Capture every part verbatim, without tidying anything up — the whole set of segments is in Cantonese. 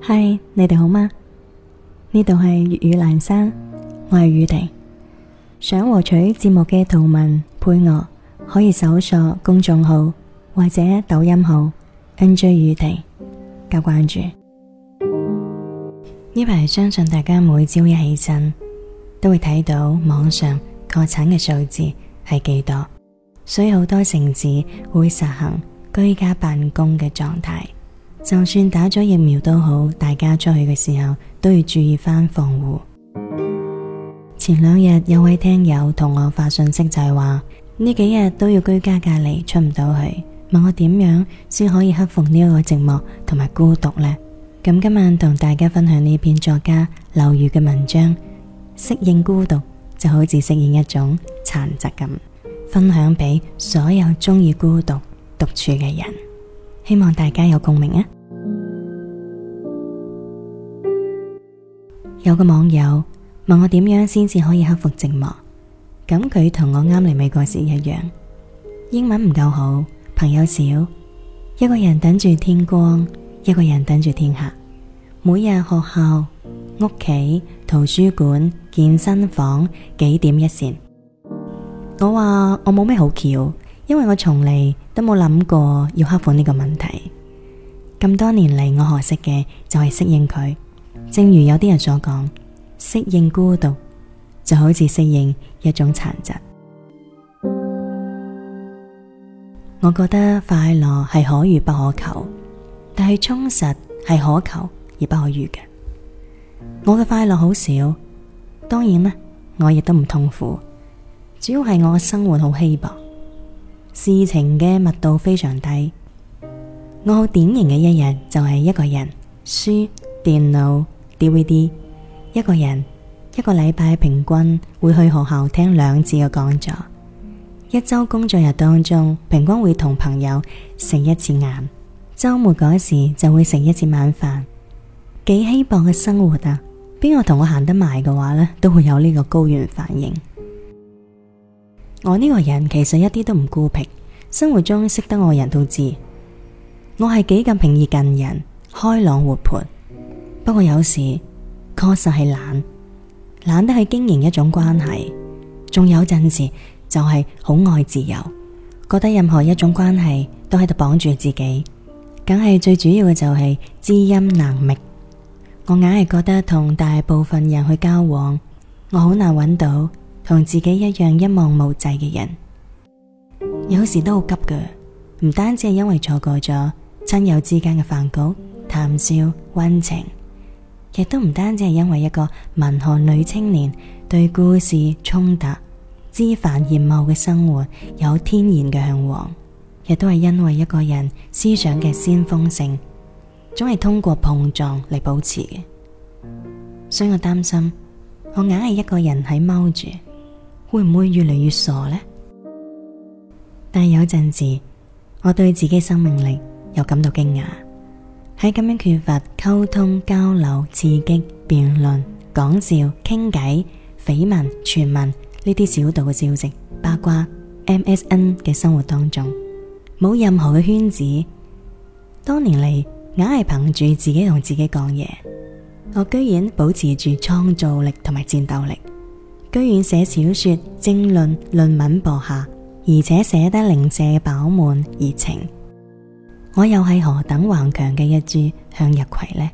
嗨，Hi，你哋好嗎？呢度係粵語蘭山，我係宇婷。想獲取節目嘅圖文配樂，可以搜索公眾號或者抖音號 N J 宇婷加關注。呢排相信大家每朝一起身，都會睇到網上確診嘅數字係幾多，所以好多城市會實行居家辦公嘅狀態。就算打咗疫苗都好，大家出去嘅時候都要注意翻防護。前兩日有位聽友同我發信息，就係話呢幾日都要居家隔離，出唔到去，問我點樣先可以克服呢個寂寞同埋孤獨呢？咁今晚同大家分享呢篇作家劉瑜嘅文章，適應孤獨就好似適應一種殘疾咁，分享俾所有鍾意孤獨獨處嘅人，希望大家有共鳴啊！有個網友問我點樣先至可以克服寂寞，咁佢同我啱嚟美國時一樣，英文唔夠好，朋友少，一個人等住天光，一個人等住天黑，每日學校、屋企、圖書館、健身房幾點一線。我話我冇咩好橋，因為我從嚟都冇諗過要克服呢個問題。咁多年嚟，我學識嘅就係適應佢。正如有啲人所講，適應孤獨就好似適應一種殘疾。我覺得快樂係可遇不可求，但係充實係可求而不可遇嘅。我嘅快樂好少，當然啦，我亦都唔痛苦，主要係我嘅生活好稀薄，事情嘅密度非常低。我好典型嘅一日就係一個人，書、電腦、D V D， 一個人，一個禮拜平均會去學校聽兩次嘅講座，一周工作日當中平均會同朋友食一次晏，周末嗰時就會食一次晚飯。幾稀薄嘅生活啊！邊個同我行得埋嘅話呢，都會有呢個高原反應。我呢個人其實一啲都唔孤僻，生活中識得我嘅人都知，我係幾咁平易近人，開朗活潑。不過有時確實係懶，懶得去經營一種關係，仲有陣時就係好愛自由，覺得任何一種關係都喺度綁住自己，梗係最主要嘅就係知音難覓。我硬係覺得同大部分人去交往，我好難揾到同自己一樣一望無際嘅人。有時都好急㗎，唔單止係因為錯過咗親友之間嘅飯局、談笑、溫情，亦都唔單止係因為一個文學女青年對故事衝突、枝繁葉茂嘅生活有天然嘅向往，亦都係因為一個人思想嘅先鋒性總係通過碰撞嚟保持嘅。所以我擔心我硬係一個人喺踎住，會唔會越嚟越傻呢？但有陣時我對自己生命力又感到驚訝，喺咁樣缺乏溝通、交流、刺激、辯論、講笑、傾偈、緋聞、傳聞呢啲小道嘅消息、八卦、M S N 嘅生活當中，冇任何嘅圈子。多年嚟硬係憑住自己同自己講嘢，我居然保持住創造力同埋戰鬥力，居然寫小說、政論、論文博下，而且寫得零舍飽滿熱情。我又係何等頑強嘅一株向日葵呢？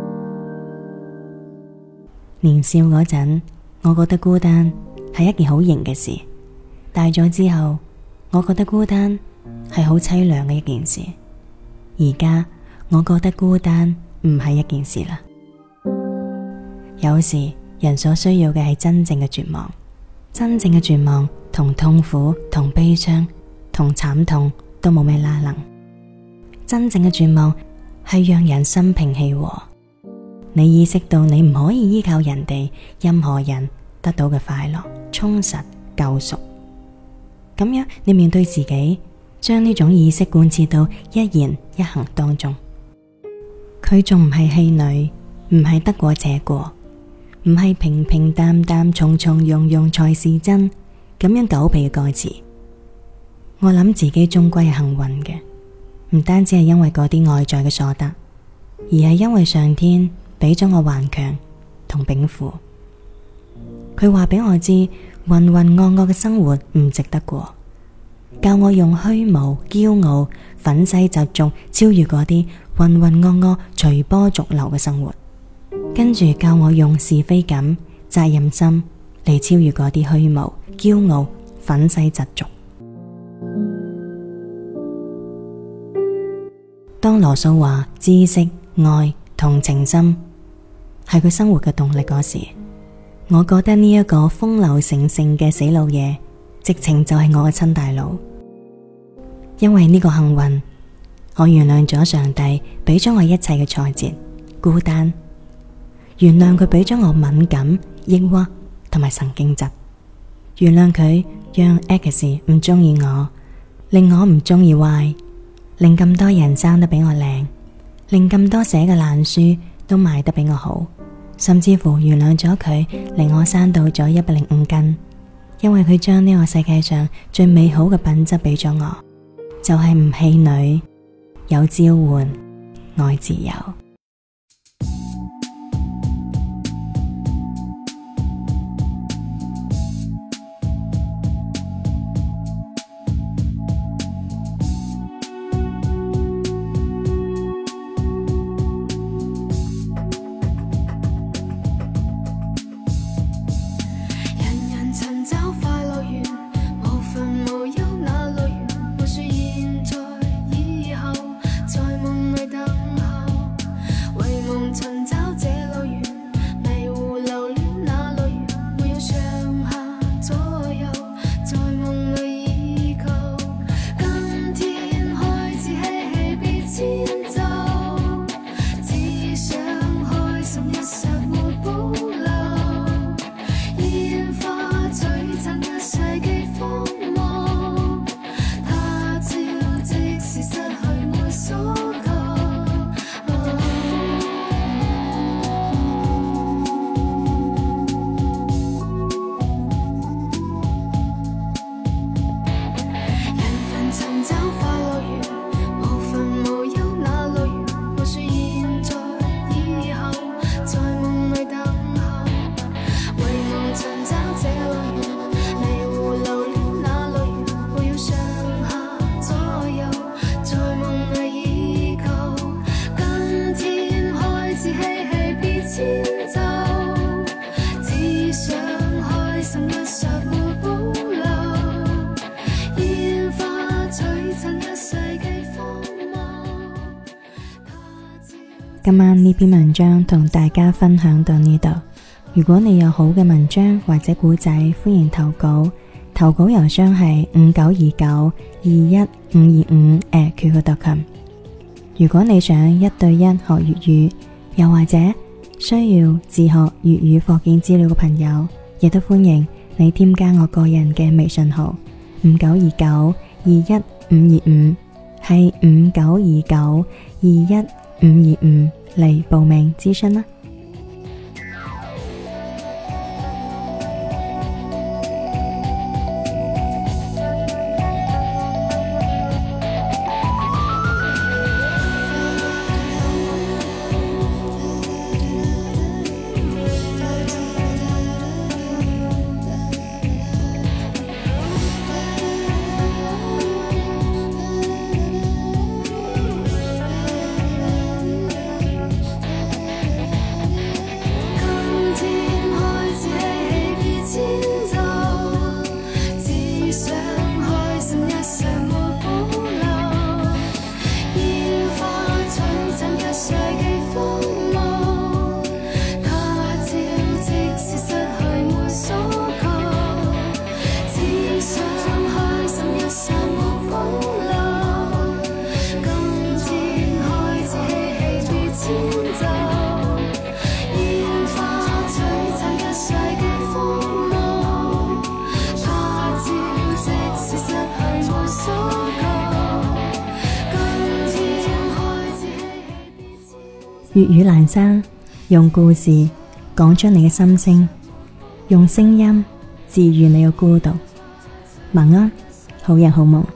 年少嗰陣，我覺得孤單係一件好型嘅事，大咗之後，我覺得孤單係好淒涼嘅一件事。而家我覺得孤單唔係一件事啦。有時人所需要嘅係真正嘅絕望，真正嘅絕望同痛苦、同悲傷、同慘痛都冇咩拉能。真正嘅絕望係讓人心平氣和，你意識到你唔可以依靠人哋、任何人得到嘅快樂、充實、救贖。咁樣你面對自己，將呢種意識貫徹到一言一行當中。佢仲唔係戲女，唔係得過且過，唔係平平淡淡、從從容容才是真咁樣狗皮嘅歌詞。我諗自己終歸係幸運嘅，唔單止係因為嗰啲外在嘅所得， 而係因為上天俾咗我頑強同稟賦。佢話俾我知渾渾噩噩嘅生活唔值得過，教我用虛無、驕傲、憤世嫉俗超越嗰啲渾渾噩噩、隨波逐流嘅生活，跟住教我用是非感、責任心嚟超越嗰啲虛無、驕傲、憤世嫉俗。當羅素話知識、愛、同情心係佢生活嘅動力嗰時，我覺得呢一個風流成性嘅死老爺，直情就係我嘅親大佬。因為呢個幸運，我原諒咗上帝俾咗我一切嘅挫折、孤單，原諒佢俾咗我敏感、抑鬱同埋神經質，原諒佢讓 X 唔中意我，令我唔中意 Y， 令咁多人生得比我靚，令咁多寫嘅爛書都賣得比我好，甚至乎原諒咗佢令我生到咗一百零五斤，因為佢將呢個世界上最美好嘅品質俾咗我，就係唔氣餒，有召喚，愛自由。今晚呢篇文章同大家分享到呢度。如果你有好嘅文章或者古仔，歡迎投稿。投稿郵箱係五九二九二一五二五 at Q Q 點 com。如果你想一對一學粵語，又或者需要自學粵語課件資料嘅朋友，亦都歡迎你添加我個人嘅微信號五九二九二一五二五，係五九二九二一五二五嚟報名諮詢啦。粵語闌珊，用故事講出你嘅心聲，用聲音治愈你嘅孤獨。晚安，好人好夢。